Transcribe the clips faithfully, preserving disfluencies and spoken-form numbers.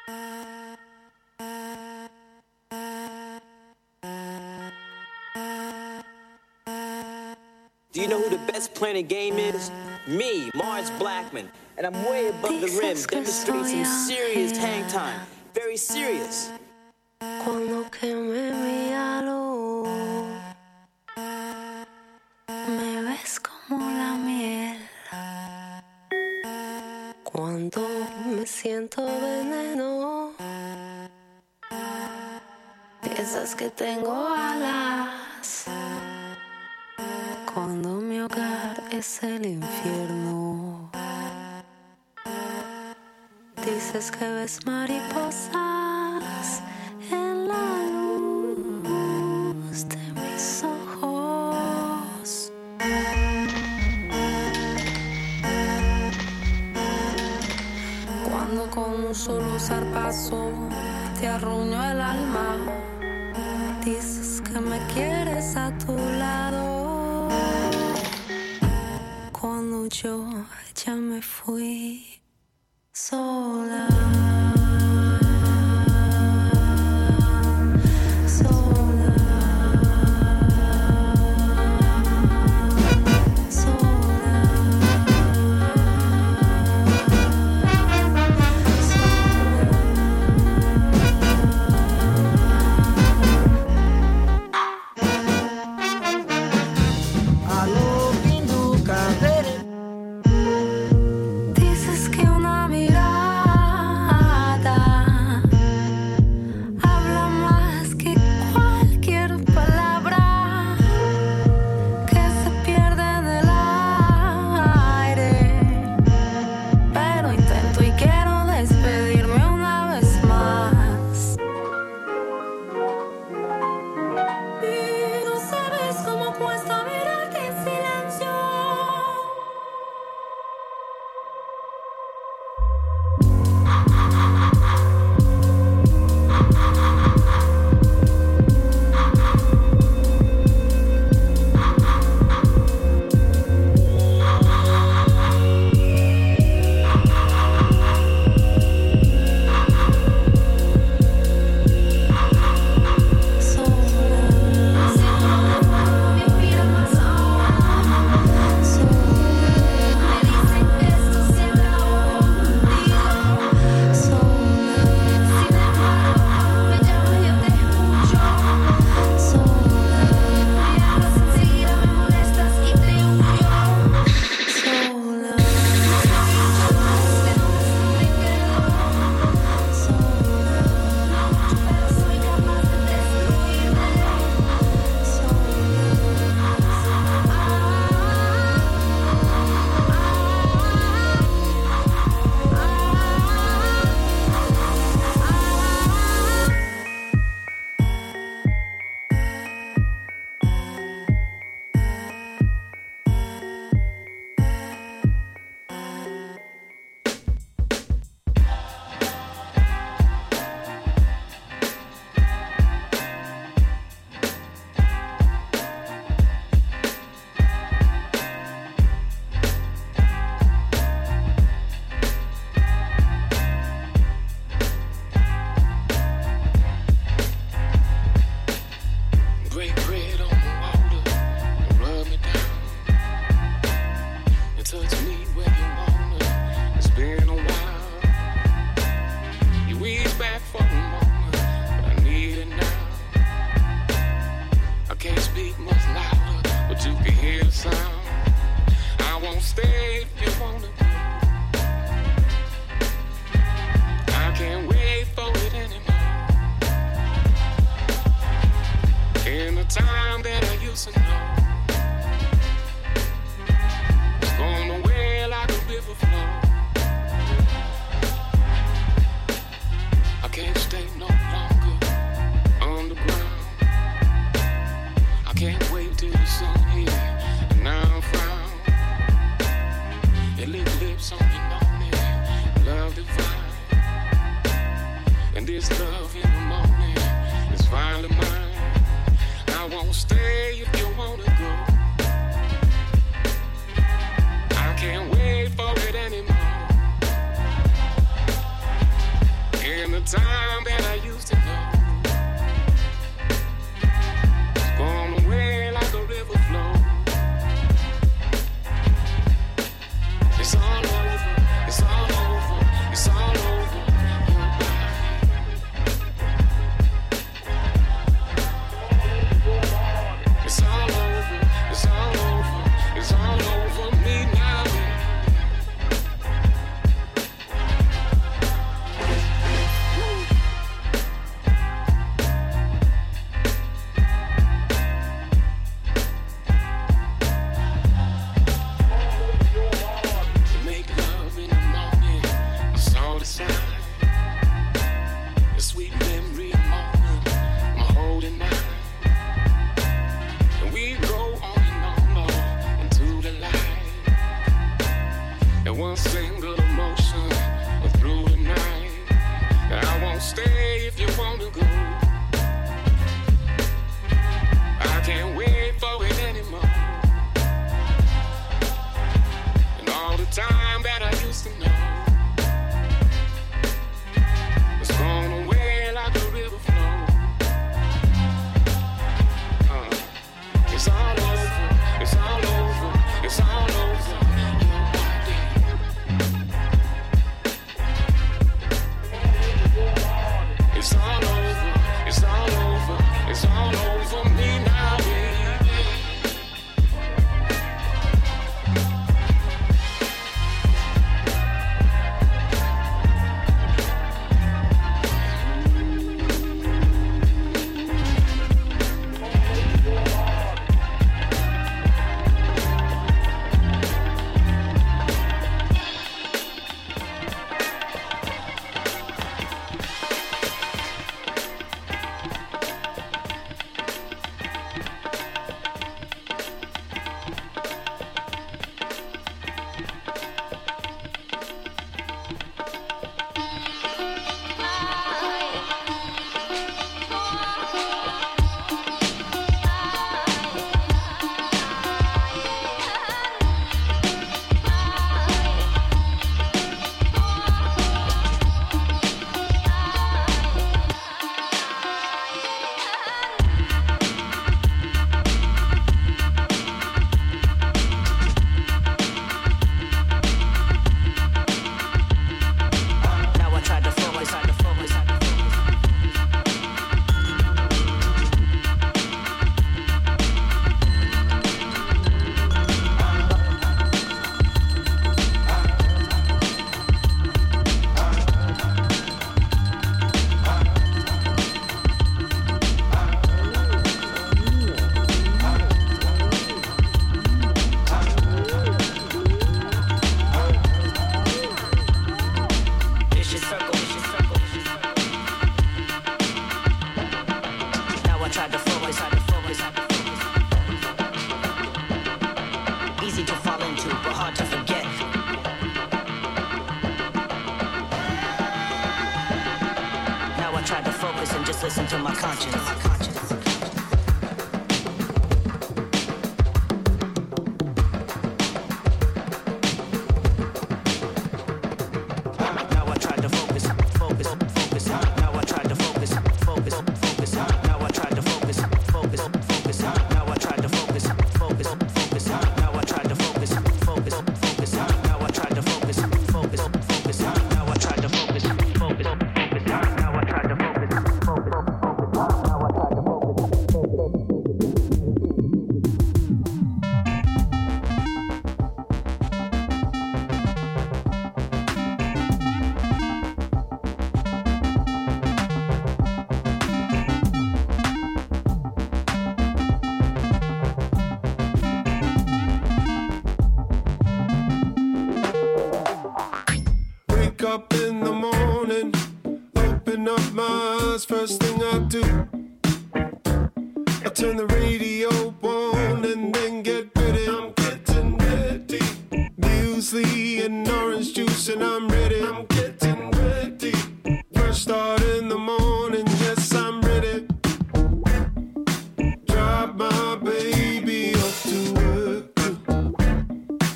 Do you know who the best playing the game is? Me, Mars Blackman. And I'm way above the rim, demonstrating some serious hang time. Very serious. Cuando queme mi halo, me ves como la miel. Cuando me siento veneno, piensas que tengo alas. Cuando mi hogar es el infierno, dices que ves mariposas en la luz de mis ojos. Cuando con un solo zarpazo te arruño el alma, dices que me quieres a tu lado. Cuando yo ya me fui sola. Dices que una mirada habla más que cualquier palabra, que se pierde en el aire. Pero intento y quiero despedirme una vez más. Y no sabes cómo cuesta mirarte en silencio. Break bread on the water and rub me down and touch me where you wanna. It's been a while. You ease back for a moment, but I need it now. I can't speak much louder, but you can hear the sound. I won't stay if you wanna go. I can't wait for it anymore. In the time that I used to know, it's gone away like a river flow. I can't stay no longer underground. I can't wait till the sun hit and now I'm frown. Your lick lips on your morning, love divine. And this love in the morning is finally mine. I won't stay if you wanna go. I can't wait for it anymore. In the time that I used to know. It's gone away like a river flow. It's all over, it's all over, it's all over your body. It's all over, it's all over, it's all over me now.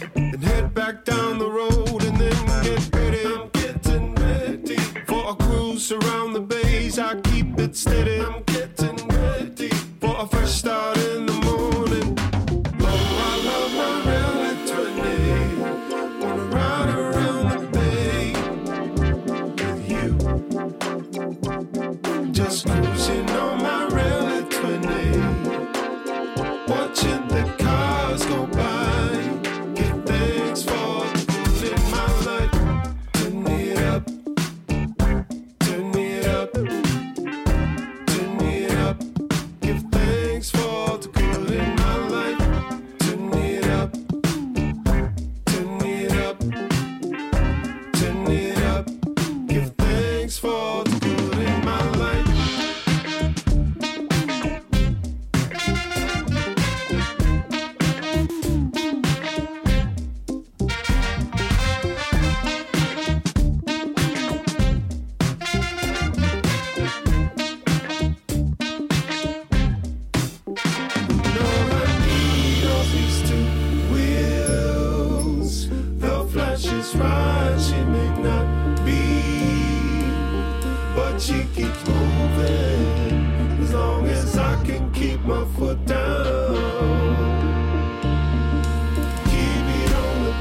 Back down the road and then get ready. I'm getting ready for a cruise. loose around the base. I keep it steady. I'm getting ready for a fresh start in the morning. Oh, I love my rally twenty. Wanna ride around the bay with you. Just cruising on my rally twenty. Watching the cars go by. Give thanks for the good in my life. Turn it up. Turn it up. Turn it up. Give thanks for the good in my life. Turn it up. Turn it up. Turn it up. Give thanks for the good in my life. Right, she may not be, but she keeps moving as long as I can keep my foot down. Keep it on the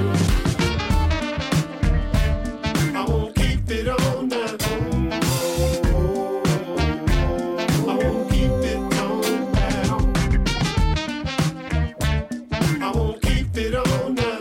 pedal. I won't keep it on that. I won't keep it on that. I won't keep it on that.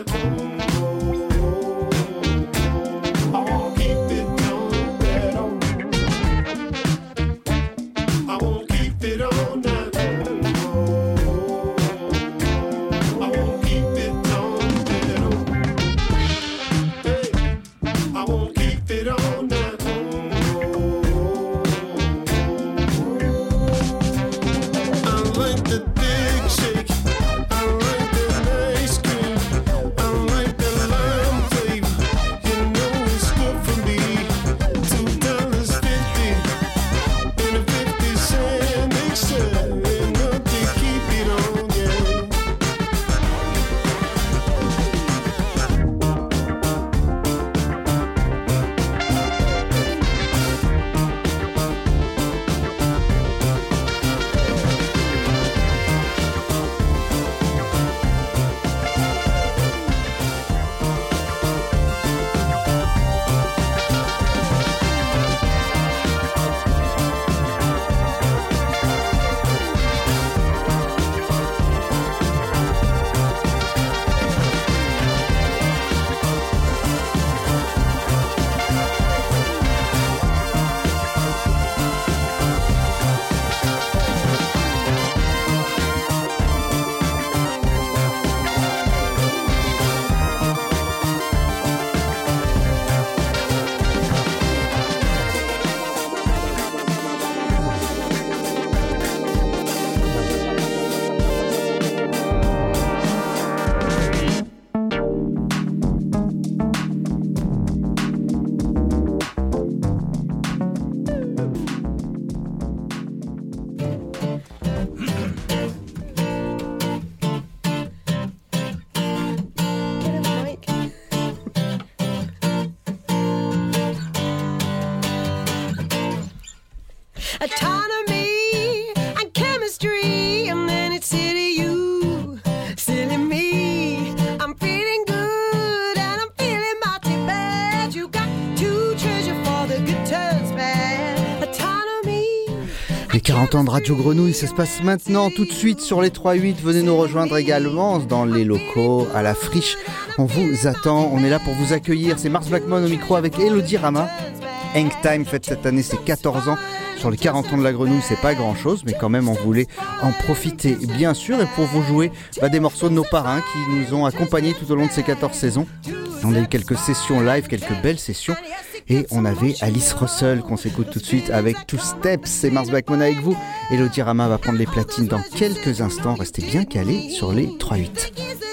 Autonomy and chemistry, and then it's silly you, silly me. I'm feeling good and I'm feeling mighty bad. You got to treasure for the good turns bad. Autonomy. Les quarante ans de Radio Grenouille, ça se passe maintenant, tout de suite sur les trois huit. Venez nous rejoindre également dans les locaux, à la friche. On vous attend, on est là pour vous accueillir. C'est Mars Blackmon au micro avec Elodie Rama. Hang Time fête cette année ses quatorze ans. Sur les quarante ans de la Grenouille, c'est pas grand chose, mais quand même on voulait en profiter bien sûr. Et pour vous jouer bah, des morceaux de nos parrains qui nous ont accompagnés tout au long de ces quatorze saisons. On a eu quelques sessions live, quelques belles sessions. Et on avait Alice Russell qu'on s'écoute tout de suite avec Two Steps. C'est Mars Blackmon avec vous. Elodie Rama va prendre les platines dans quelques instants. Restez bien calés sur les trois huit.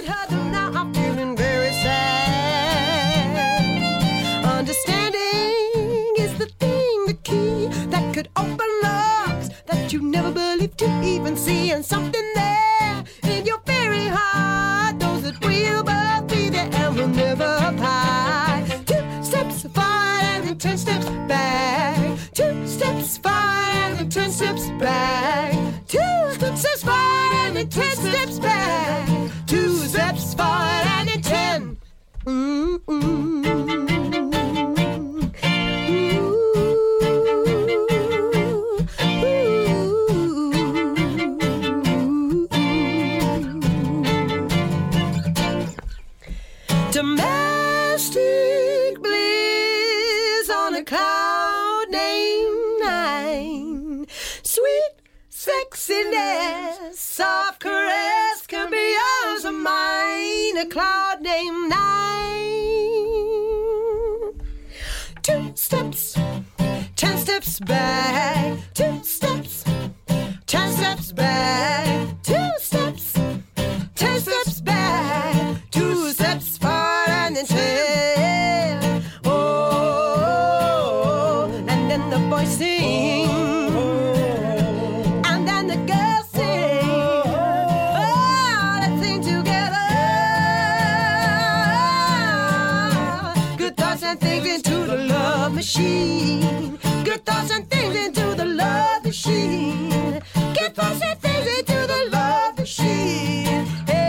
You never believed to even see, and something there in your very heart knows that we'll both be there and we'll never part. Two steps forward and then ten steps back, two steps forward and then ten steps back, two steps forward and then ten steps back, two steps forward and then ten. Mm-mm. Domestic bliss on a cloud named nine. Sweet sexiness, soft caress can be yours or mine. A cloud named nine. Two steps, ten steps back. Two steps, ten steps back. Two steps, ten steps back. Two steps forward and then ten. Oh, and then the boys sing, and then the girls sing. Oh, let's sing together. Good thoughts and things into the love machine. Good thoughts and things into the love machine. Good thoughts and things into the love machine.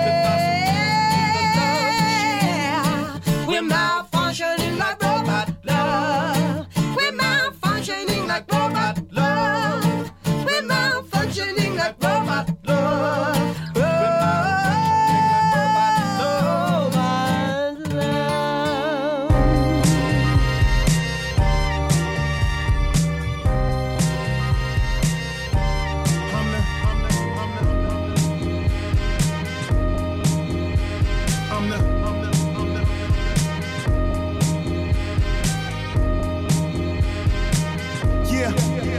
We're malfunctioning like robot love. We're malfunctioning like robot love. We're malfunctioning like robot love. Robot love. I'm the, I'm the, I'm the, I'm the. Yeah.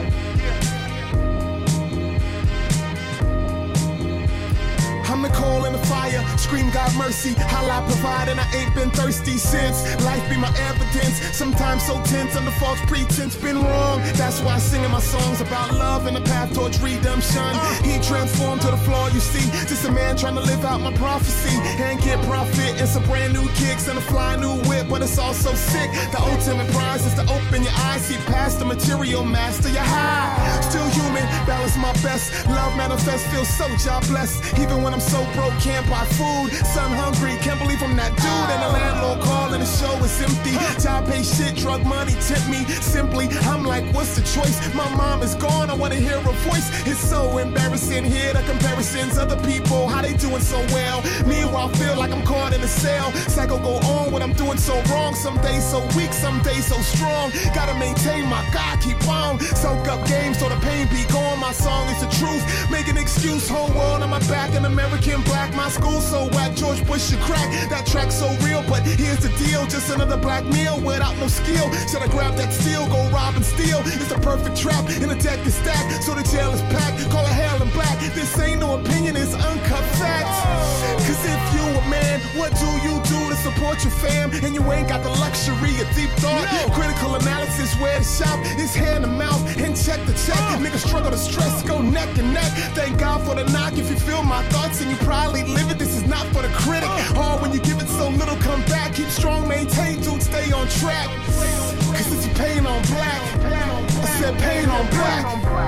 I'm the coal in the fire, scream God mercy. How I provide and I ain't been thirsty since. Life be my evidence, sometimes so tense under false pretense. Been wrong, that's why I sing in my songs about love and the path towards redemption. He transformed to the floor, you see. Just a man trying to live out my prophecy and get profit and some brand new kicks and a fly new whip, but it's all so sick. The ultimate prize is to open your eyes, see past the material, master your high. Still human, balance my best. Love manifest, feel so job blessed. Even when I'm so broke, can't buy food. Son hungry, can't believe I'm that dude. And the landlord calling, the show is empty. Job pay shit, drug money tempt me. Simply, I'm like, what's the choice? My mom is gone, I wanna hear her voice. It's so embarrassing, hear the comparisons. Other people, how they doing so well. Meanwhile, feel like I'm caught in a cell. Cycle go on when I'm doing so wrong. Some days so weak, some days so strong. Gotta maintain my God, keep on. Soak up game so the pain be gone. My song is the truth. Make an excuse, whole world on my back. An American black, my school so whack. George Bush should crack. That track so real, but here's the deal. Just another black meal without no skill. Should I grab that steel, go rob and steal? It's the perfect trap, and the deck is stacked. So the jail is packed, call it hell and black. This ain't no opinion, it's uncut facts. Cause if you a man, what do you do to support your fam? And you ain't got the luxury of deep thought. No. Critical analysis, where to shop is hand to mouth and check the check. Uh. Niggas struggle to stress, go neck and neck. Thank God for the knock. If you feel my thoughts and you probably live it, this is not for the critic. Uh. Hard when you give it so little, come back. Keep strong, maintain, dude, stay on track. Cause it's pain on black. I said pain on black.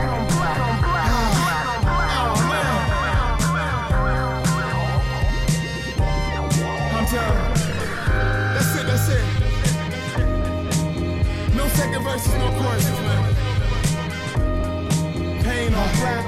That's it, that's it. No second verses, no choruses, man. Pain on black.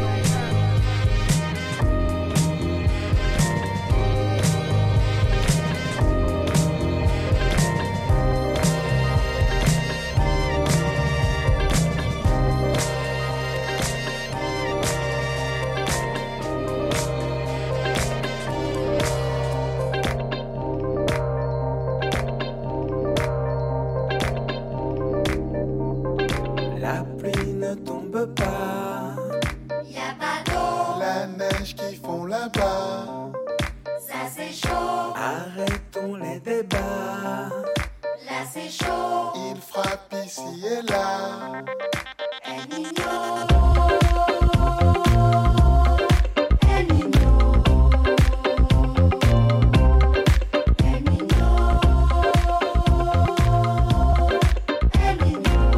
Arrêtons les débats. Là c'est chaud. Il frappe ici et là. El Niño. El Niño. El Niño. El Niño.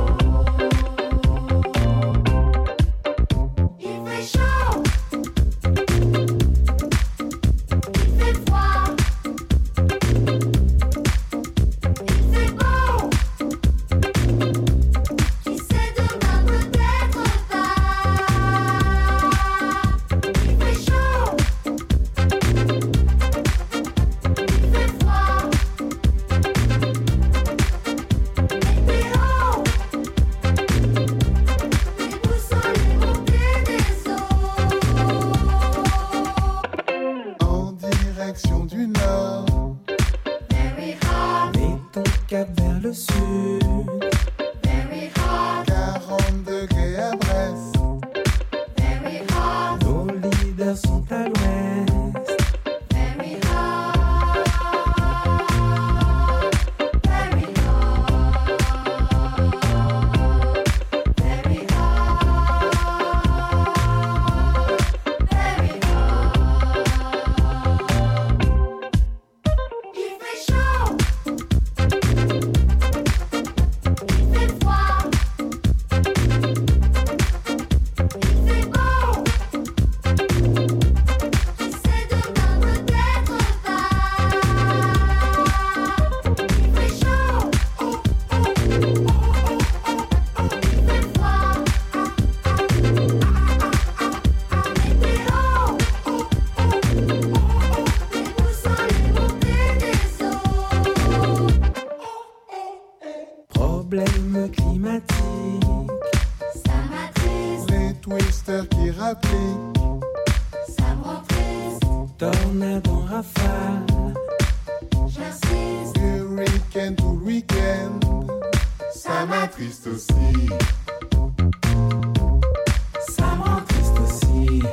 climatique. Ça m'attriste. Les twisters qui rappliquent. Ça me rend triste. Tornade en rafale. J'insiste. Du week-end tout le week-end. Ça m'attriste aussi. Ça me rend triste aussi.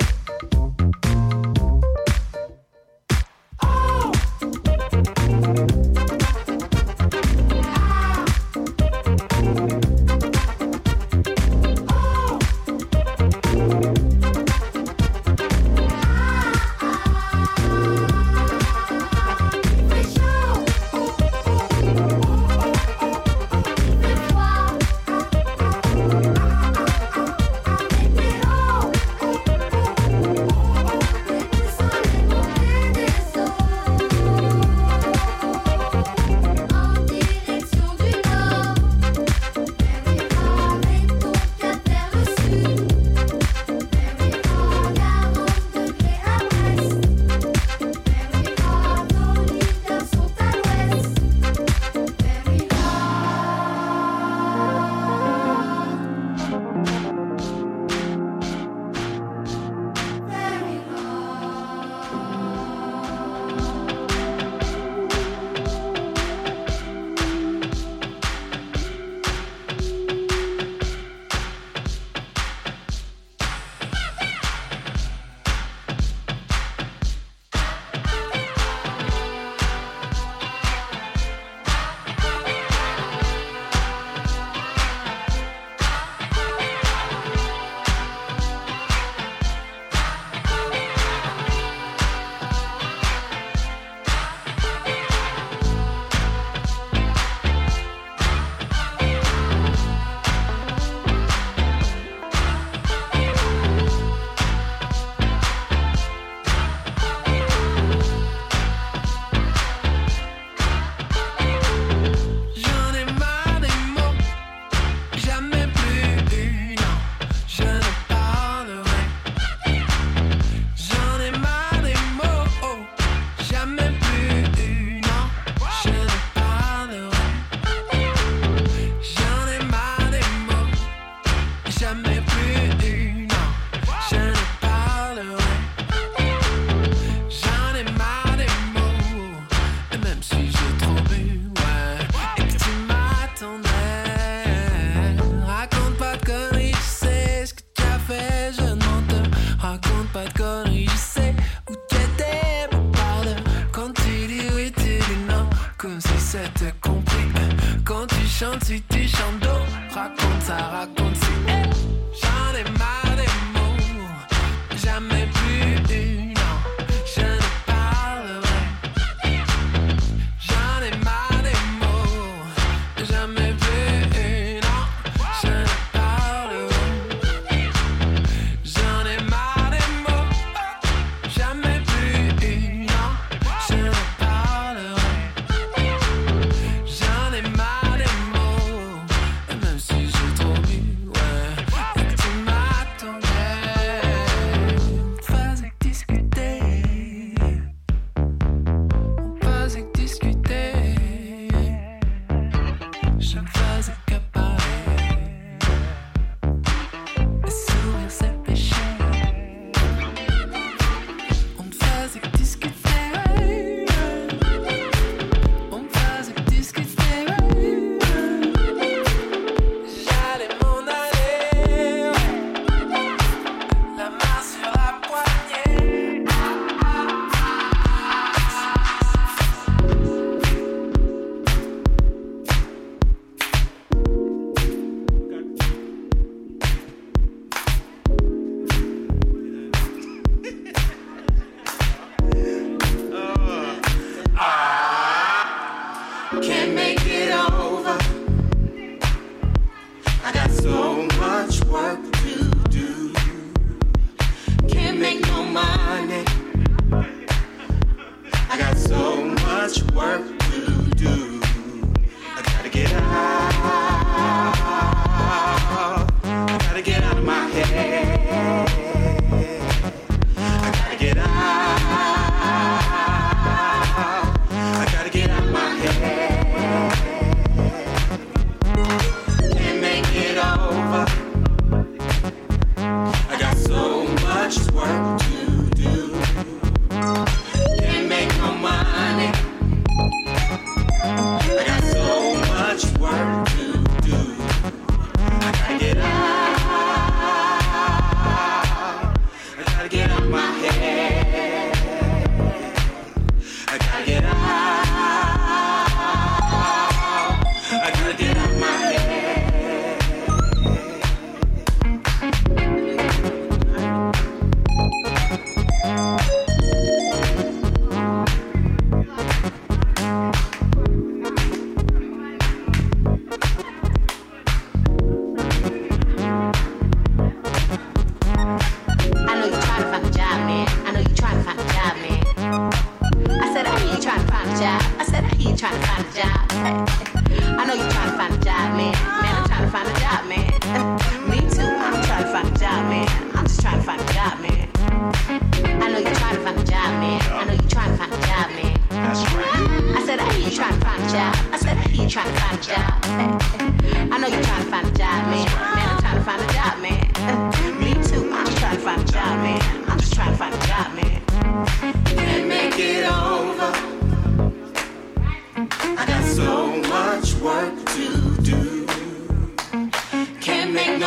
J'en ai marre des mots, et même si j'ai trop bu.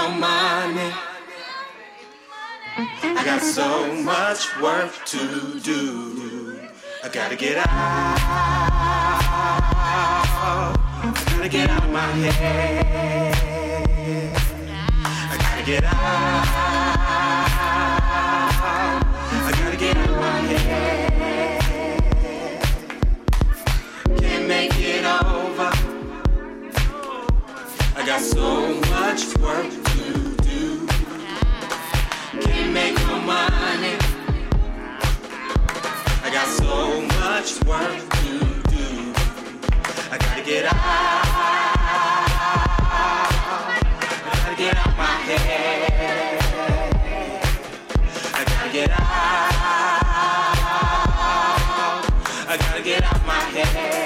no money. I got so much work to do. I gotta get out. I gotta get out of my head. I gotta get out. I gotta get out of my head. Can't make it over. I got so much work to do. Can't make no money. I got so much work to do. I gotta get out. I gotta get out my head. I gotta get out. I gotta get out my head.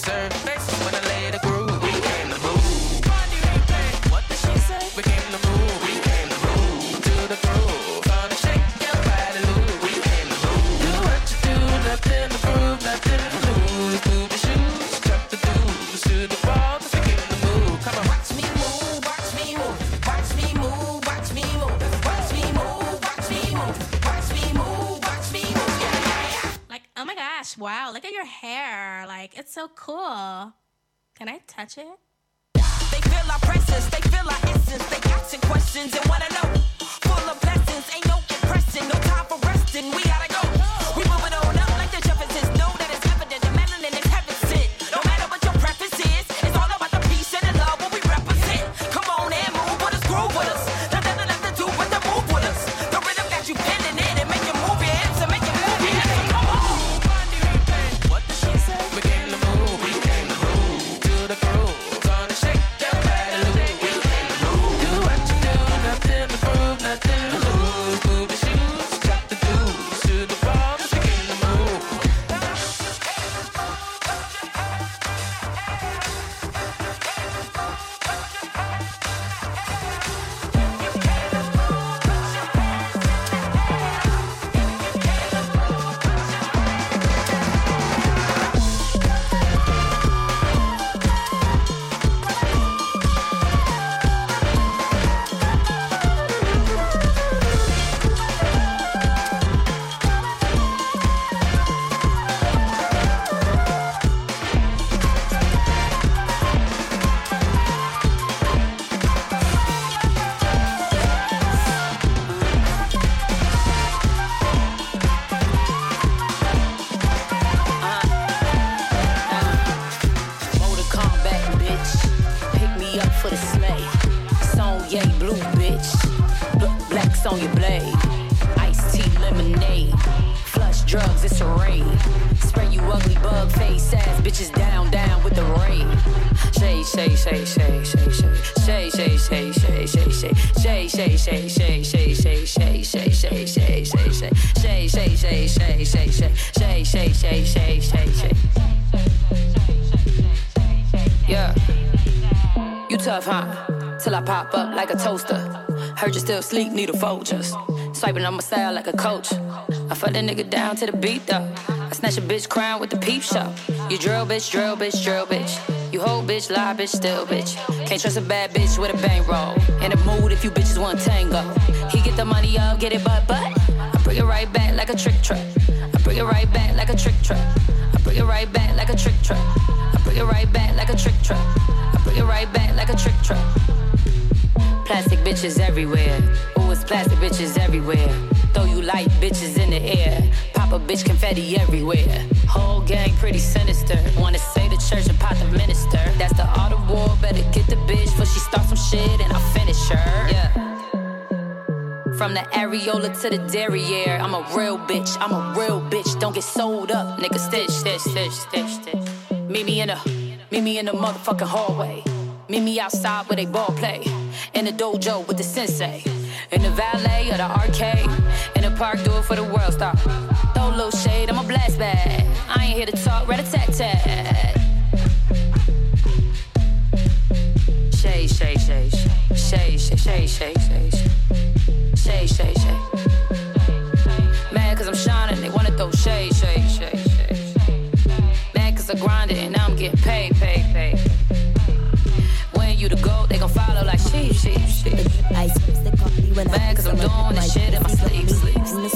surface when I lay the groove. We came to move. What did she say? We came to move. We came to move to the groove. Gonna shake your body loose. We came to move. Do what you do, nothing to prove, nothing to lose. Move your shoes, chuck the dues to the ball. 'Cause we came to move. Come on, watch me move, watch me move, watch me move, watch me move, watch me move, watch me move, watch me move, watch me move. Yeah, yeah, yeah. Like, oh my gosh, wow, look at your hair. Like, it's so cool. Can I touch it? They feel our presence, they feel our essence. They asking questions and wanna know. Full of blessings, ain't no impression, no time for resting. We gotta go. We moving on up like the Jeffersons. Know that it's evident the melanin is heaven sent. No matter what your preference is, it's all about the peace and the love what we represent. Come on and move with us, groove with us. Nothing left to do but to move with us. The rhythm got you feeling it and make you move your hips and make you move your hips. Come on. What did she say? We came to move. We came to move to the groove. Gonna shake your body loose. We came to move. Do what you do, nothing to prove, nothing to lose. Move your shoes, drop the dues to the ball. 'Cause we came to move. Motor combat, bitch. Pick me up for the sleigh. Song yay blue, bitch. B- blacks on your blade. Iced tea, lemonade. Flush drugs, it's a raid. Spray you ugly bug face ass bitches down, down with the raid. Shay, shay, shay, shay, shay, shay. Shay, shay, shay, shay, shay, shay. Shay, shay, shay, shay, shay, shay, shay, shay, shay, shay, shay, shay. Shay, shay, shay, shay, shay, shay. Shay, shay, shay, shay, shay, shay. Yeah. You tough, huh? Till I pop up like a toaster. Heard you still sleep, need a Folgers. Swiping on my style like a coach. I fuck that nigga down to the beat though. I snatch a bitch crown with the peep show. You drill bitch, drill bitch, drill bitch. You whole bitch, lie bitch, still bitch. Can't trust a bad bitch with a bankroll. In the mood if you bitches want tango. He get the money up, get it but but. I bring it right back like a trick track. I bring it right back like a trick track. I bring it right back like a trick track. I bring it right back like a trick track. I bring it right back like a trick track. Plastic bitches everywhere. Ooh, it's plastic bitches everywhere. Throw you light bitches in the air. Pop a bitch confetti everywhere. Whole gang pretty sinister. Wanna say the church and pop the minister. That's the art of war. Better get the bitch before she starts some shit and I'll finish her. Yeah. From the areola to the derriere. I'm a real bitch. I'm a real bitch. Don't get sold up, nigga. Stitch, stitch, stitch, stitch, stitch. Meet me in the, meet me in the motherfucking hallway. Meet me outside where they ball play. In the dojo with the sensei. In the valet or the arcade. In the park, do it for the world star. Throw a little shade, I'm a blast bag. I ain't here to talk, rat-a-tat-tat. Shade, shade, shade, shade, shade, shade, shade, shade, shade, shade, shade. Mad cause I'm shining, they wanna throw shade, shade, shade, shade. Mad cause I grinded and now I'm getting paid, paid, paid. When you the goat, they gon' follow like sheep, sheep, sheep. Mad cause I'm doing this shit in my sleep, sleep.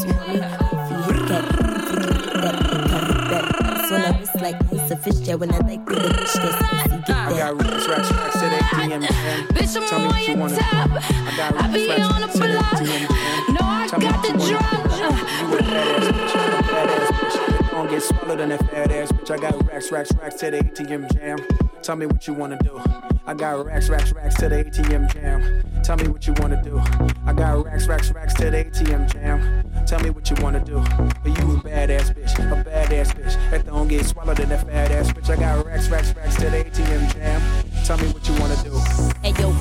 Like Lisa Fisher when I like the bitch that's I got racks, racks, racks to the A T M. Bitch, I'm on your top. I be on the block. No, I got the drop. You a badass bitch, you a badass bitch. Don't get swallowed in that fat ass bitch. I got racks, racks, racks to the A T M jam. Tell me what you wanna do. I got racks, racks, racks to the A T M jam. Tell me what you wanna do. I got racks, racks, racks to the A T M jam. Tell me what you wanna do. But you a badass bitch, a badass bitch. That don't get swallowed in that fat ass bitch. I got racks, racks, racks to the A T M jam. Tell me what you wanna do. Hey yo P,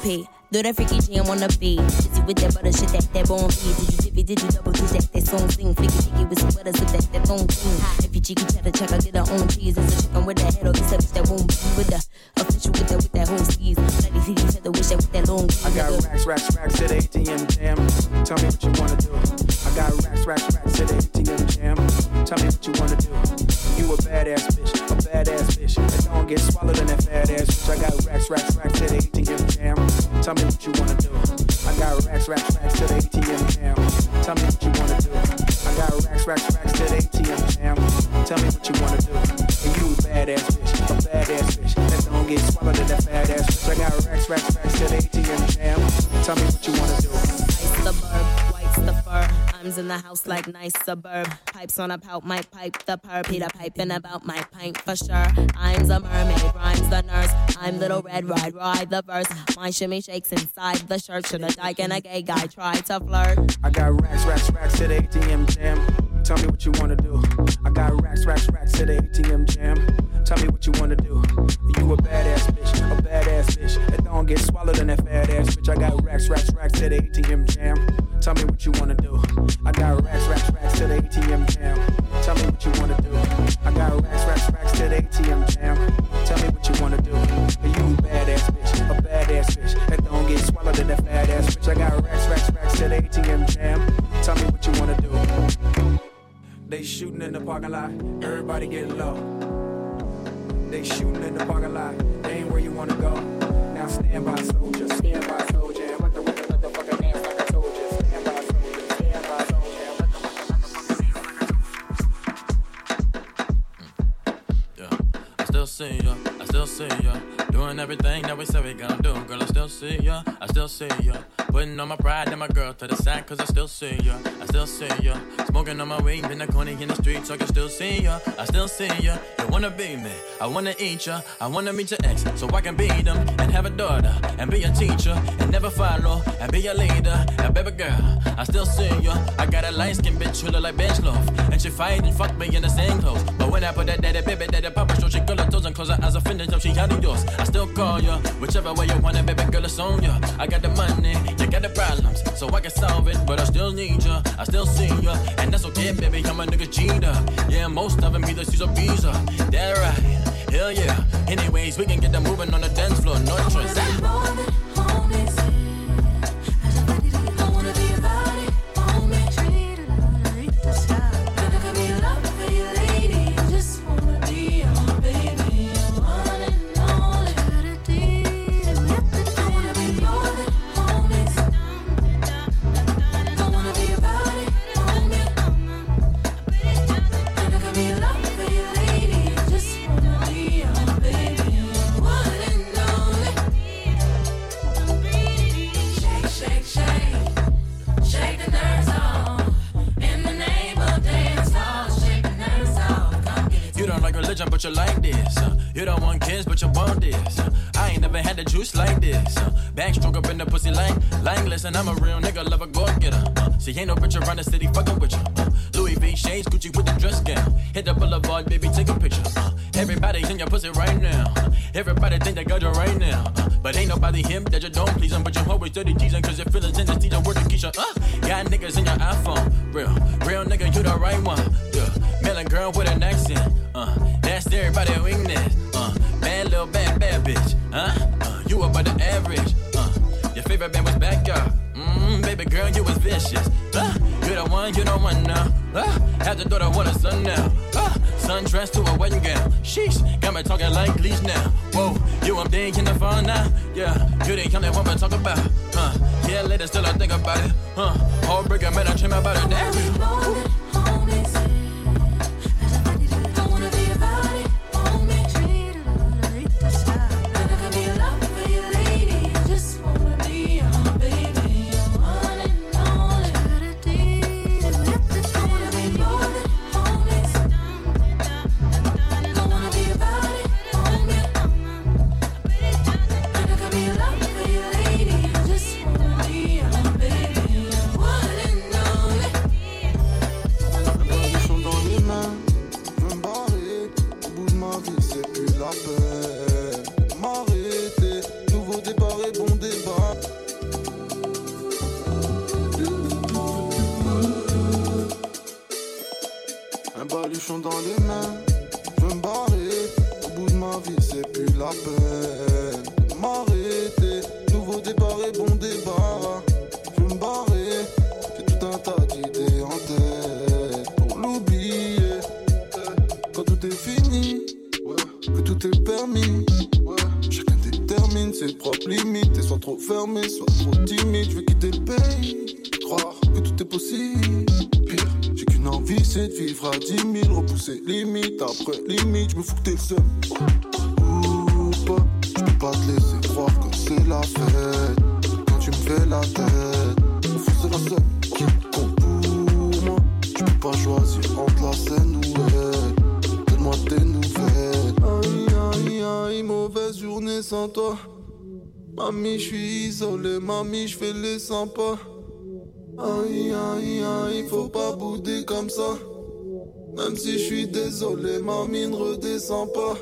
Do that freaky jam on the beat. Busy with that butter shit, that that bone feed. Did you dip it, did you double ditch that, that song sing. Flicky flicky with some butter, so that that bone thing. If you cheeky cheddar check, I get her own cheese. It's a chicken with that head or it's a bitch that won't be with the official with that, with that whole skis. Bloody city cheddar, wish that with that long I got racks, racks, racks to the A T M jam. Tell me what you wanna do. I got racks, racks, racks to the A T M jam. Tell me what you wanna do. You a badass bitch, a badass bitch. And don't get swallowed in that fat ass bitch. I got racks, racks, racks to the A T M jam. Tell me what you wanna do. I got racks, racks, racks to the A T M jam. Tell me what you wanna do. I got racks, racks, racks to the A T M jam. Tell me what you wanna do. And you a badass bitch, a badass bitch. And don't get swallowed in that fat ass bitch. I got racks, racks, racks to the A T M jam. Tell me what you wanna do. Ice the burb, white's the fur. I'm in the house like nice suburb. Pipes on a pout, might pipe the perp. Peter piping about my pint for sure. I'm the mermaid, rhymes the nurse. I'm little red, ride, ride the verse. My shimmy shakes inside the shirt. Should a dyke and a gay guy try to flirt? I got racks, racks, racks to the A T M jam. Tell me what you wanna do. I got racks, racks, racks to the A T M jam. Tell me what you wanna do. You a badass bitch, a badass bitch. And don't get swallowed in that fat ass bitch. I got racks, racks, racks to the A T M jam. Tell me what you wanna do. I got racks, racks, racks to the A T M jam. Tell me what you wanna do. I got racks, racks, racks to the A T M jam. Tell me what you wanna do. You a badass bitch, a badass bitch. And don't get swallowed in that fat ass bitch. I got racks, racks, racks to the A T M jam. Tell me what you wanna do. They shooting in the parking lot, everybody getting low. They shooting in the parking lot, they ain't where you wanna go. Now stand by, soldier, stand by, soldier. What the, what the, what the fucking dance like I told you. Stand by, soldier, stand by, soldier. What the, what the, yeah, I still see ya, I still see ya. Doing everything that we said we gonna do. Girl, I still see ya, I still see ya. Putting on my pride and my girl to the side, cause I still see ya, I still see ya. Smoking on my weed in the corner in the street, so I can still see ya, I still see ya. You wanna be me, I wanna eat ya, I wanna meet your ex, so I can beat them and have a daughter, and be a teacher, and never follow, and be a leader. And baby girl, I still see ya. I got a light skin bitch who look like bench loaf, and she fight and fuck me in the same clothes. But when I put that daddy baby, daddy papa show, she girl her toes and close her eyes, I finish up, she out of yours. I still call ya, whichever way you want it, baby girl, it's on ya. I got the money, you got the problems, so I can solve it, but I still need ya, I still see ya, and that's okay, baby, I'm a nigga cheater. Yeah, most of them either she's a visa. That right, hell yeah. Anyways, we can get them moving on the dance floor, no choice. But you like this, uh, you don't want kids, but you want this. Uh, I ain't never had the juice like this. Uh, backstroke up in the pussy like, like, listen, I'm a real nigga, love a go getter. Uh, see, ain't no bitch around the city fucking with you. Uh, Louis V shades, Gucci with the dress gown. Hit the boulevard, baby, take a picture. Uh, everybody's in your pussy right now. Uh, everybody think they got you right now. Uh, but ain't nobody here that you don't please them. But you always dirty teasing, cause your feelings in the teacher word to Keisha. Uh, got niggas in your iPhone, real, real nigga, you the right one. Yeah, melon girl with an accent. Uh, that's everybody weakness. Uh, bad little bad bad bitch. Huh? Uh, you above the average. Uh, your favorite band was Backyard. Mmm, baby girl, you was vicious. Uh, you the one, you the one now. Uh, have to daughter want a son now. Uh, sundress to a wedding gown. Sheesh, got me talking like leash now. Whoa, you I'm big in the phone now. Yeah, you the kind that want me to talk about. Uh, yeah, later still I think about it. Uh, whole break, man, I dream about it. Damn. bouchon dans les mains. Je veux me barrer, au bout de ma vie c'est plus la peine de m'arrêter. Nouveau départ et bon débarras. Je veux me barrer, j'ai tout un tas d'idées en tête pour l'oublier. Quand tout est fini, ouais, que tout est permis, ouais, chacun détermine ses propres limites. Et soit trop fermé, soit trop timide. Je veux quitter le pays, croire que tout est possible. Pire, j'ai qu'une envie, c'est de vivre à dix mille. Repousser limite après limite. Je me fous que t'es le seul ou pas. Je peux pas te laisser croire que c'est la fête. Quand tu me fais la tête, au fond c'est la seule qui compte pour moi. Je peux pas choisir entre la scène ou elle. Donne-moi tes nouvelles. Aïe aïe aïe, mauvaise journée sans toi. Mamie, je suis isolé, mamie, je fais les cent pas. Aïe aïe aïe, faut pas bouder comme ça. Même si je suis désolé, mamie ne redescend pas.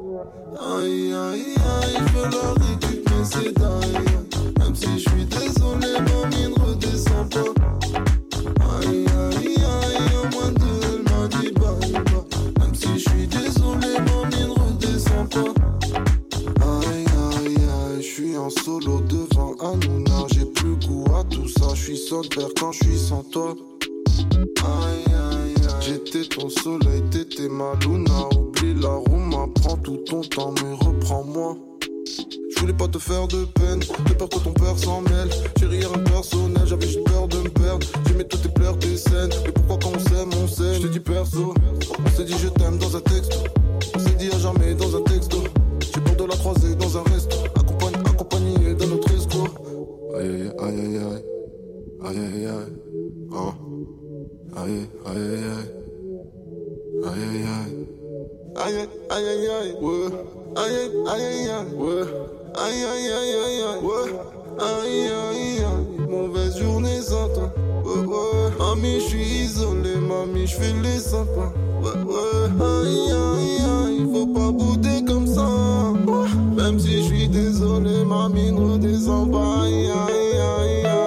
Aïe aïe aïe, je veux la récup mais c'est dingue. Même si je suis désolé, mamie ne redescend pas. Aïe aïe aïe, au moins deux, elle m'a dit bye bye. Même si je suis désolé, mamie ne redescend pas. Aïe aïe aïe, je suis en solo devant Hanouna. J'ai plus goût à tout ça, je suis solitaire quand je suis sans toi. Aïe aïe aïe, j'étais ton soleil, t'étais ma luna. Oublie la rouma, prends tout ton temps mais reprends-moi. Je voulais pas te faire de peine, j'ai peur que ton père s'en mêle. J'ai rien personnel, j'avais juste peur de me perdre. J'aimais toutes tes pleurs, tes scènes, mais pourquoi quand on s'aime, on s'aime. Je te dis perso, on s'est dit je t'aime dans un texte. On s'est dit à jamais dans un texto. J'ai peur de la croiser dans un resto, accompagné, accompagné dans notre escroc. Aïe aïe aïe aïe, aïe aïe aïe, oh. Aïe aïe aïe aïe, aïe aïe aïe, aïe aïe aïe aïe, ouais. Aïe aïe aïe aïe, ouais. Aïe aïe aïe aïe aïe, ouais. Aïe aïe aïe, mauvaise journée sans toi, ouais ouais. Mamie, je suis isolé, mamie, je fais les sympas, ouais ouais. Aïe aïe aïe, faut pas bouder comme ça, ouais. Même si je suis désolé, mamie ne redescend pas. Aïe aïe aïe aïe.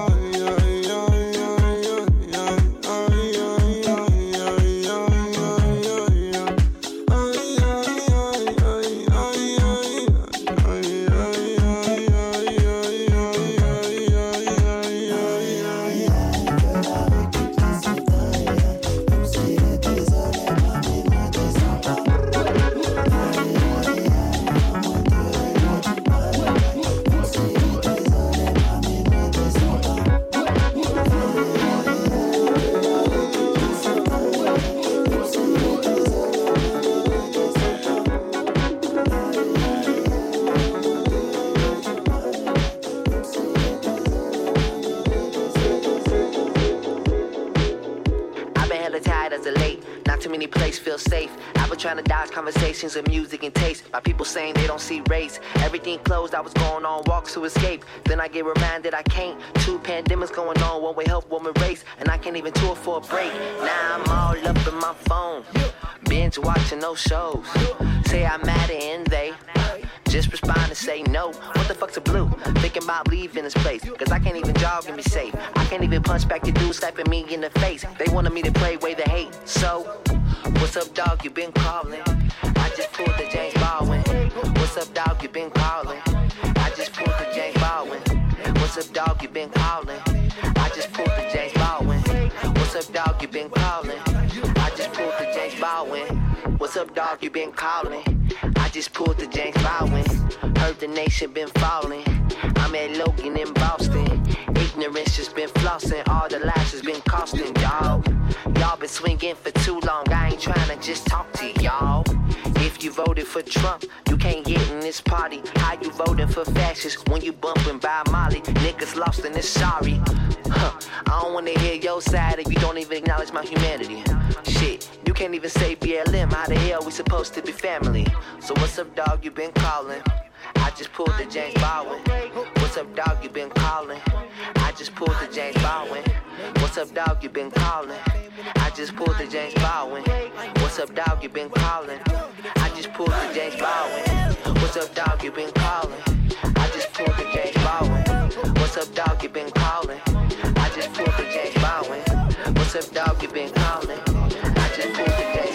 Conversations of music and taste. My people saying they don't see race. Everything closed, I was going on walks to escape. Then I get reminded I can't. Two pandemics going on, one way help, one way race. And I can't even tour for a break. Now I'm all up in my phone, binge watching no shows. Say I'm mad and they just respond and say no. What the fuck's a blue? Thinking about leaving this place, cause I can't even jog and be safe. I can't even punch back the dude slapping me in the face. They wanted me to play way the hate. So, what's up dog, you been calling? I just pulled the James Baldwin. What's up dog, you been calling? I just pulled the James Baldwin. What's up dog, you been calling? I just pulled the James Baldwin. What's up dog, you been calling? I just pulled the James Baldwin. What's up dog, you been calling? I just pulled the James Baldwin. Heard the nation been falling. I'm at Logan in Boston. Ignorance just been flossing. All the lies has been costing, dawg. Y'all been swinging for too long. I ain't trying to just talk to y'all. If you voted for Trump, you can't get in this party. How you voting for fascists when you bumping by Molly? Niggas lost and it's sorry. Huh. I don't wanna hear your side if you don't even acknowledge my humanity. Shit, you can't even say B L M. How the hell we supposed to be family? So what's up, dog? You been calling? I just pulled the James Baldwin. What's up, dog? You been calling? I just pulled the James Baldwin. What's up, dog? You been calling? I just pulled the James Baldwin. What's up, dog? You been calling? I just pulled the James Baldwin. What's up, dog? You been calling? I just pulled the James Baldwin. What's up, dog? You been calling? I just pulled the James Baldwin. What's up, dog? You been calling? I just pulled the James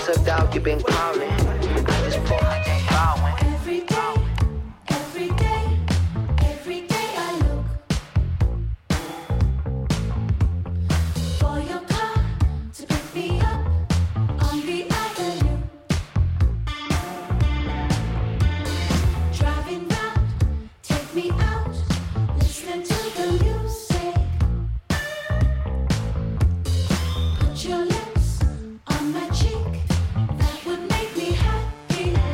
moments of doubt, you've been calling. I just pull my day bowing. Every day, every day, every day I look for your car to pick me up on the avenue. Driving round, take me out, listening to the music. Put your lips on my cheek, that would make me happy.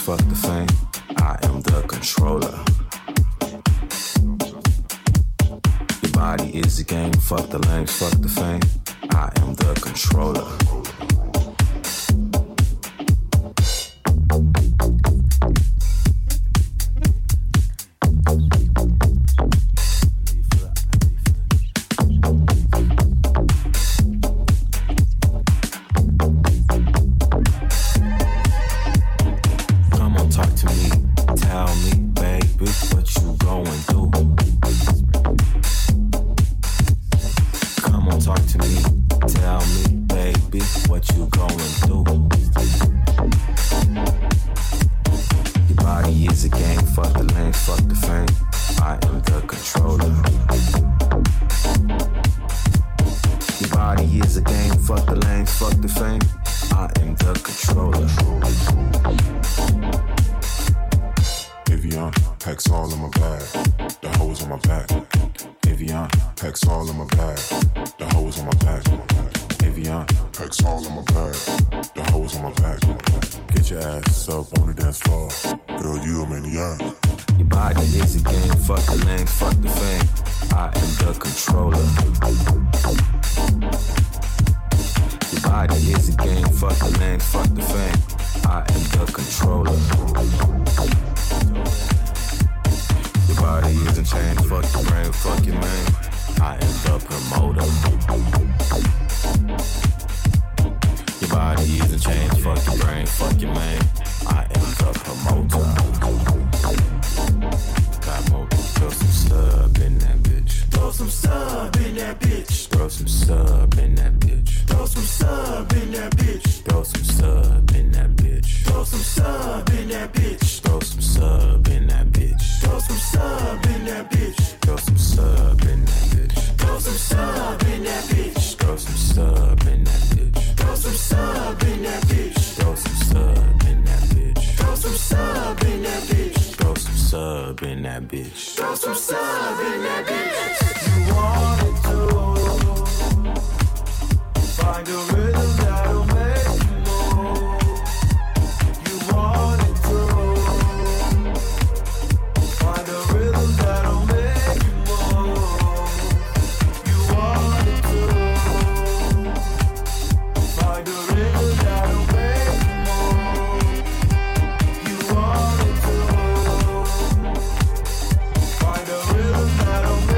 fuck the fame. I am the controller. Your body is a game, fuck the lames, fuck the fame. I am the controller. Find a rhythm that'll make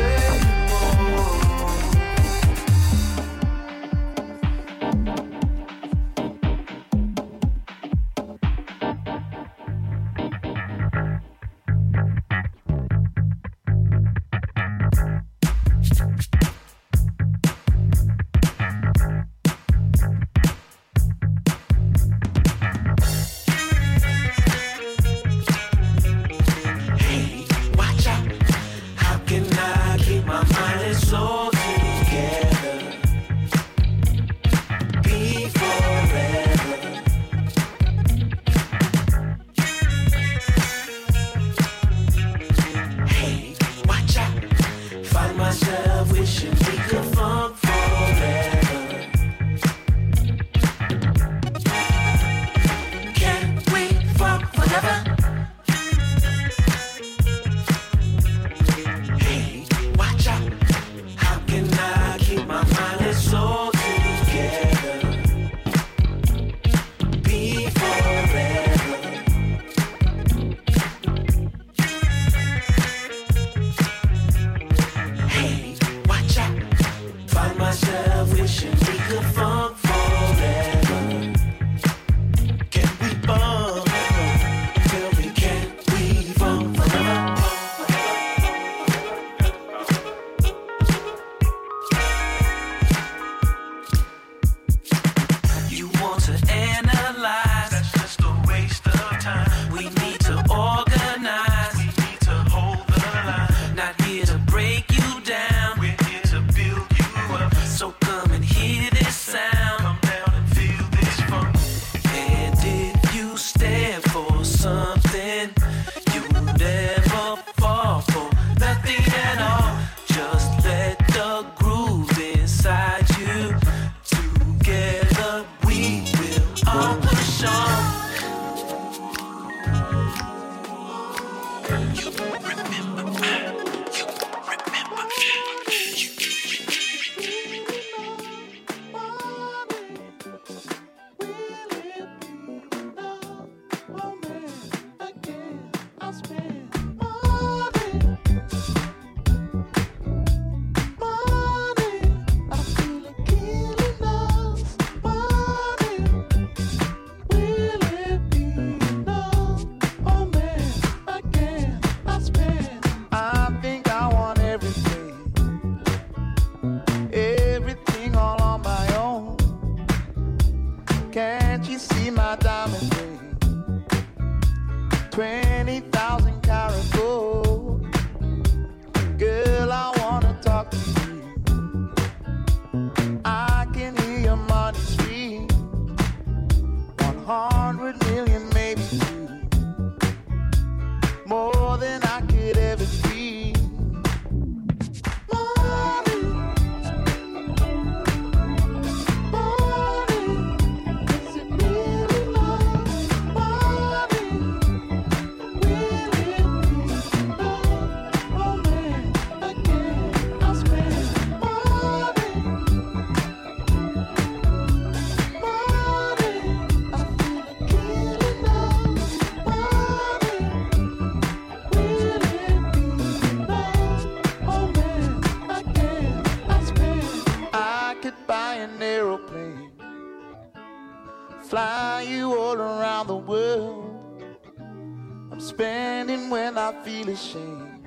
Fly you all around the world. I'm spending when I feel ashamed.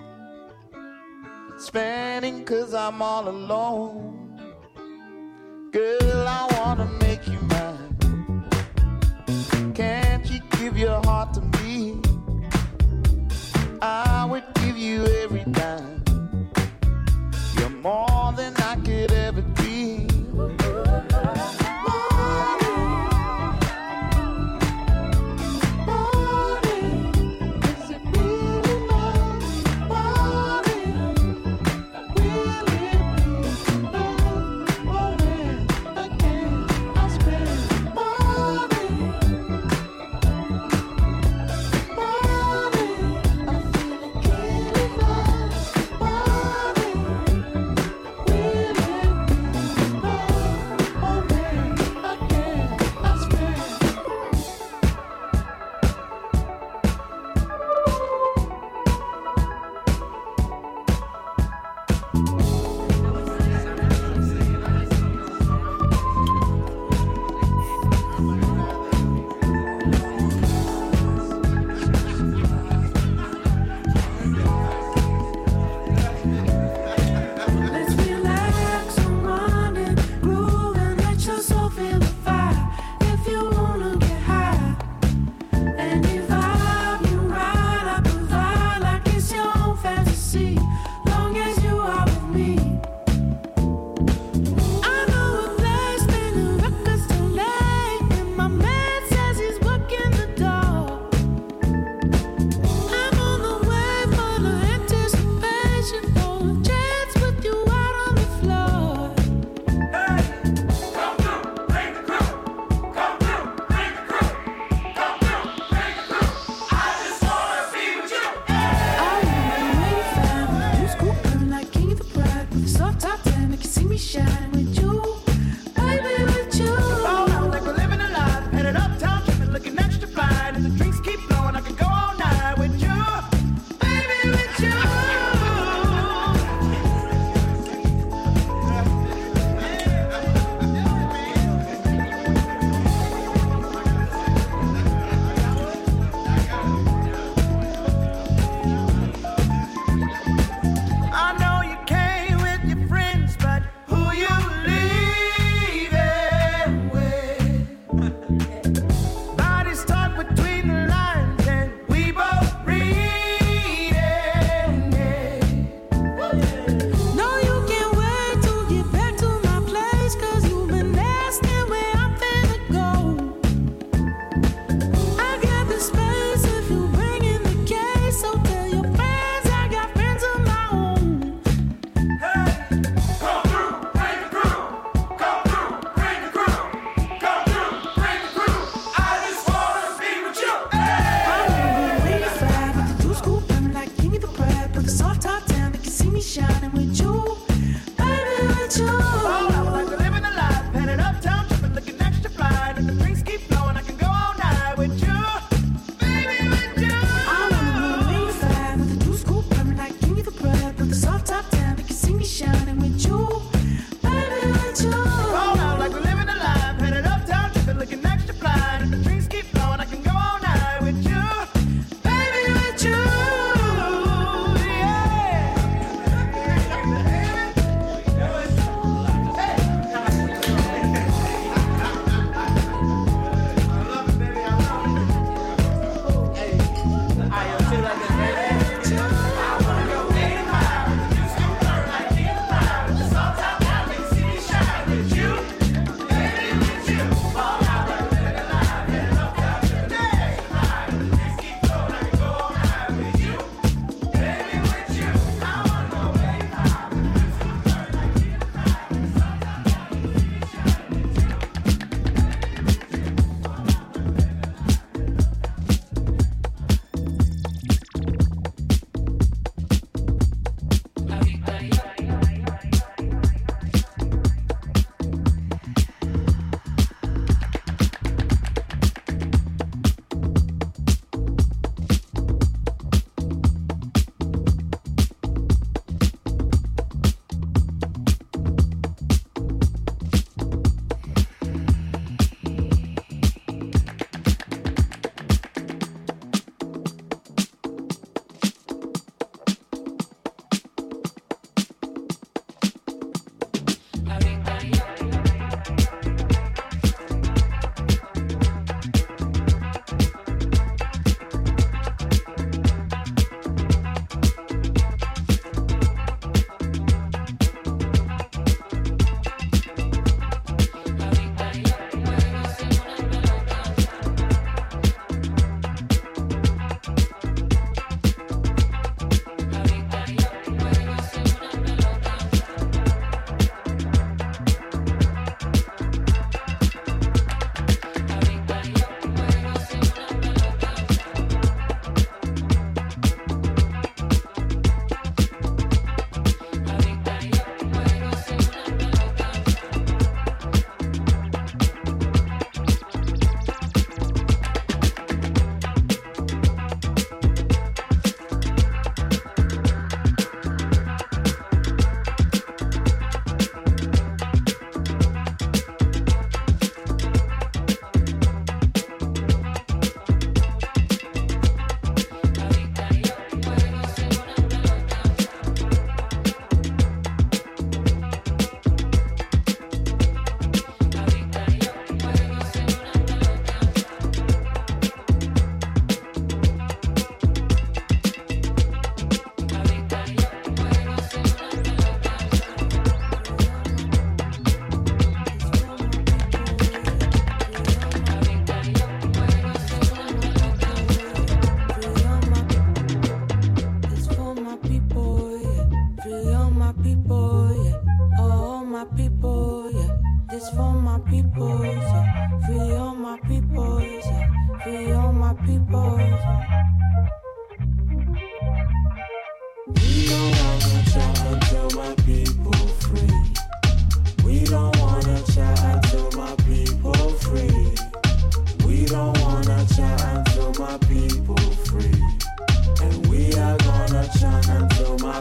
Spending cause I'm all alone. Girl, I wanna make you mine. Can't you give your heart to me? I would give you every dime. You're more than I could ever dream.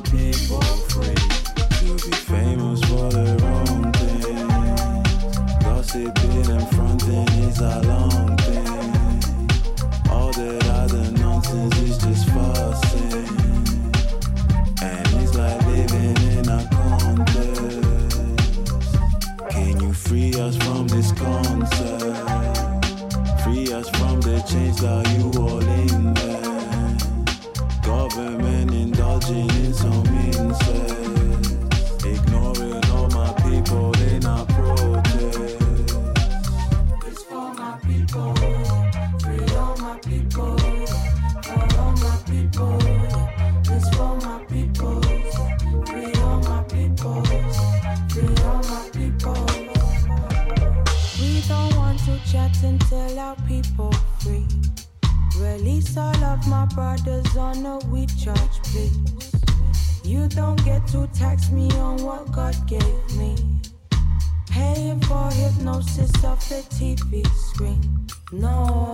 people free. To be famous for the wrong thing. Gossiping and fronting is a long thing. All that other nonsense is just fussing. And it's like living in a contest. Can you free us from this concept? Free us from the chains that you all in there. Government indulging in some incest. Ignoring all my people in our protest. It's for my people, free all my people, for all my people. It's for my people, free all my people, free all my people. We don't want to chat until our people free. Release all of my brothers on a we charge, please. You don't get to tax me on what God gave me. Paying for hypnosis off the T V screen. No.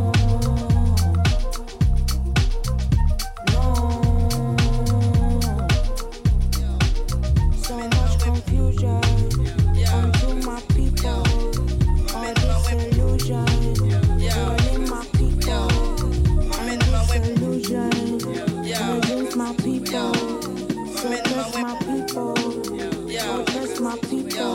No. So much confusion. Come to my people. All this illusion. Calling my people. All this illusion. Calling my people. So trust my people. So trust my people.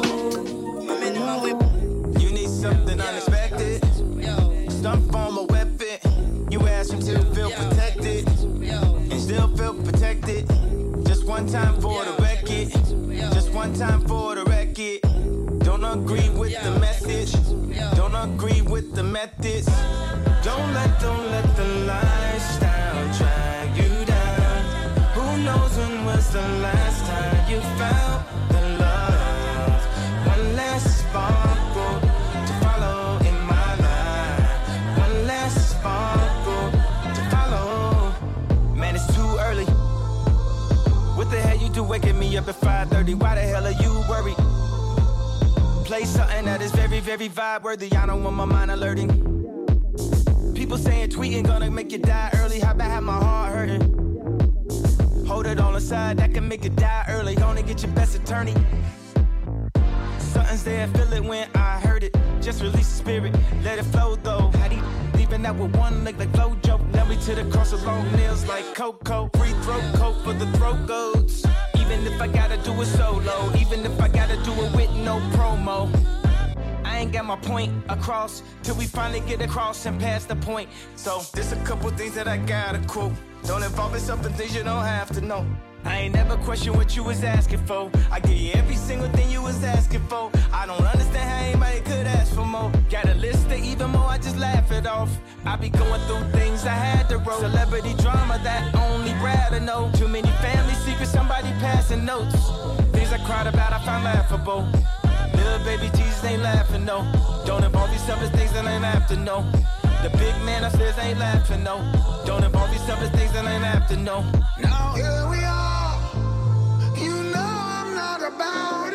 You need something unexpected. Some form of weapon. You ask him to feel protected. And still feel protected. Just one time for the record. Just one time for the record. Don't agree with the message. Don't agree with the methods. Don't let, don't let the lifestyle drag you down. Who knows when was the last time you found the love? One last sparkle to follow in my life. One last sparkle to follow. Man, it's too early. What the hell you do waking me up at five thirty? Why the hell are you worried? Play something that is very, very vibe worthy. I don't want my mind alerting. People saying tweeting gonna make you die early. How about have my heart hurting? Hold it on the side, that can make you die early. Gonna get your best attorney. Something's there, feel it when I heard it. Just release the spirit, let it flow though. How do you leaving out with one leg like Flojo? Now we to the cross of long nails like Coco. Free throat coat for the throat goats. Even if I gotta do it solo, even if I gotta do it with no promo. I ain't got my point across till we finally get across and past the point. So there's a couple things that I gotta quote. Don't involve yourself in things you don't have to know. I ain't never question what you was asking for. I give you every single thing you was asking for. I don't understand how anybody could ask for more. Got a list of even more, I just laugh it off. I be going through things I had to roll. Celebrity drama that only Brad to know. Too many family secrets, somebody passing notes. Things I cried about, I found laughable. Little baby Jesus ain't laughing, no. Don't involve yourself in things that ain't have to know. The big man upstairs ain't laughing, no. Don't involve yourself in things that ain't have to know. Now here we are. You know I'm not about it.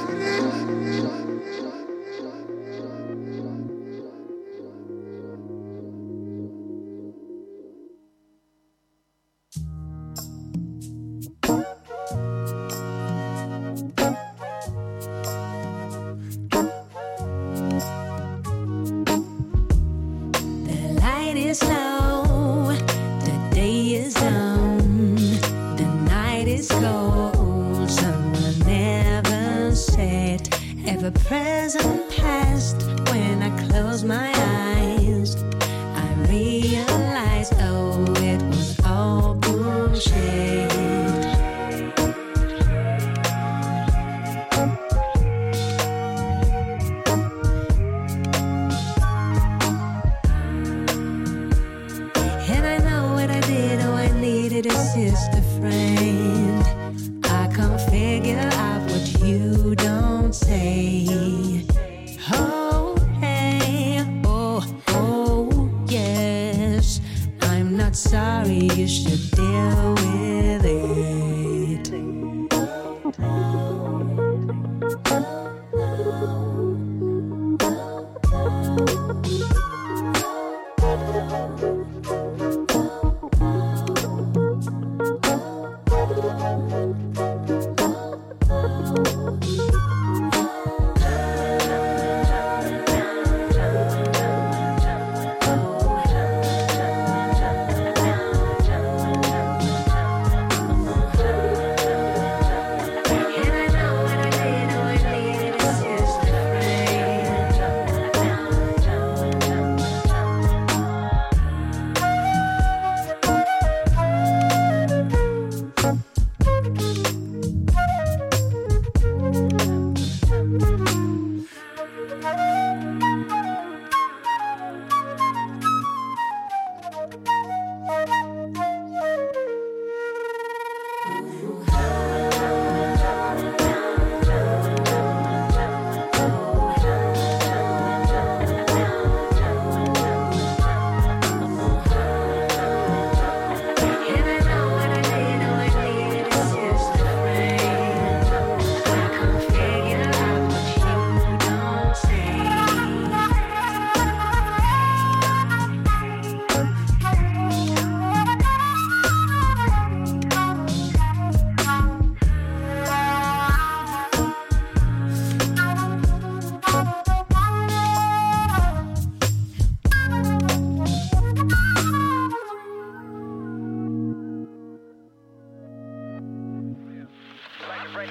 Is low, the day is down, the night is cold. Someone never said, ever present past. When I close my eyes, I realize, oh, it was all bullshit. A sister friend, I can't figure out what you don't say. Oh, hey, oh, oh, yes. I'm not sorry, you should deal with it.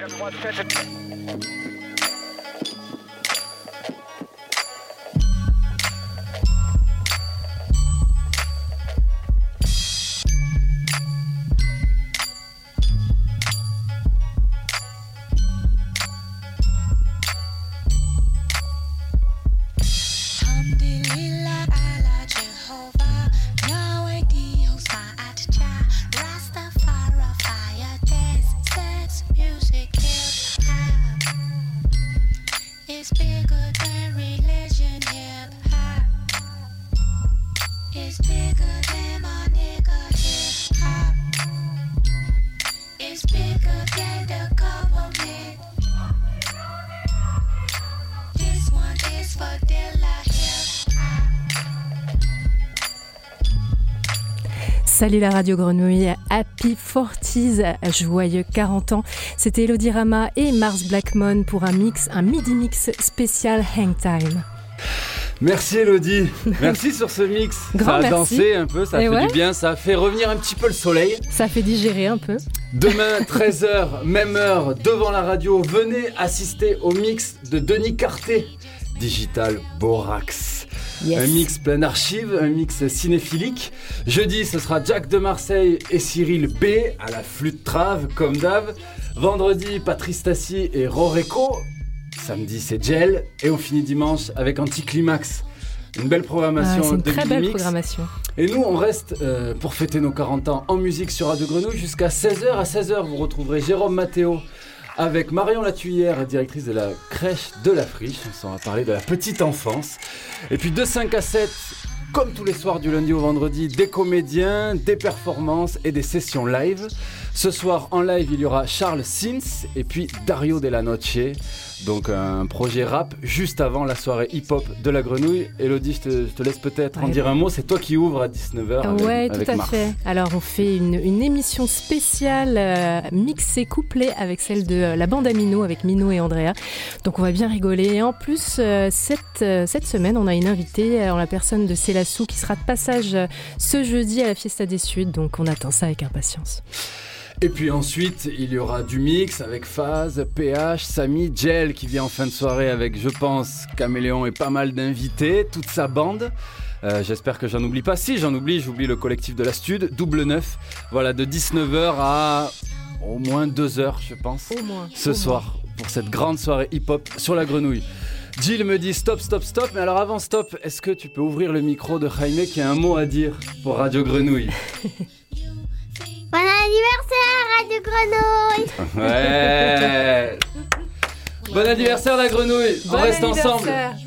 Salut la Radio Grenouille, Happy forties, joyeux quarante ans. C'était Elodie Rama et Mars Blackmon pour un mix, un midi mix spécial Hang Time. Merci Elodie, merci sur ce mix. Grand ça a merci. dansé un peu, ça a Et fait ouais. du bien, ça a fait revenir un petit peu le soleil. Ça fait digérer un peu. Demain, treize heures, même heure, devant la radio, venez assister au mix de Denis Carté, Digital Borax. Yes. Un mix plein d'archives, un mix cinéphilique. Jeudi, ce sera Jack de Marseille et Cyril B à la flûte trave, comme d'hab. Vendredi, Patrice Tassi et Roreko. Samedi, c'est Gel. Et on finit dimanche avec Anticlimax. Une belle programmation Ah, c'est une de très mini belle mix. programmation. Et nous, on reste euh, pour fêter nos quarante ans en musique sur Radio Grenouille jusqu'à seize heures. À seize heures, vous retrouverez Jérôme Matteo avec Marion Latuyère, directrice de la crèche de la Friche. On s'en va parler de la petite enfance. Et puis de cinq à sept, comme tous les soirs du lundi au vendredi, des comédiens, des performances et des sessions live. Ce soir, en live, il y aura Charles Sims et puis Dario Della Noce. Donc un projet rap juste avant la soirée hip-hop de la Grenouille. Elodie, je te, je te laisse peut-être en Ouais. dire un mot. C'est toi qui ouvres à dix-neuf heures avec, Ouais, avec tout à Mars. fait. Alors, on fait une, une émission spéciale euh, mixée, couplée avec celle de euh, la bande à Mino, avec Mino et Andrea. Donc, on va bien rigoler. Et en plus, euh, cette, euh, cette semaine, on a une invitée euh, en la personne de Célassou qui sera de passage euh, ce jeudi à la Fiesta des Suds. Donc, on attend ça avec impatience. Et puis ensuite, il y aura du mix avec Faz, P H, Samy, Gel qui vient en fin de soirée avec, je pense, Caméléon et pas mal d'invités, toute sa bande. Euh, j'espère que j'en oublie pas. Si j'en oublie, j'oublie le collectif de la Stud, Double Neuf. Voilà, de dix-neuf heures à au moins deux heures, je pense, Au moins. ce au soir, pour cette grande soirée hip-hop sur la Grenouille. Jill me dit stop, stop, stop. Mais alors avant stop, est-ce que tu peux ouvrir le micro de Jaime qui a un mot à dire pour Radio Grenouille? Bon anniversaire, Radio Grenouille! Ouais. Bon anniversaire la Grenouille. On Bon reste ensemble. anniversaire.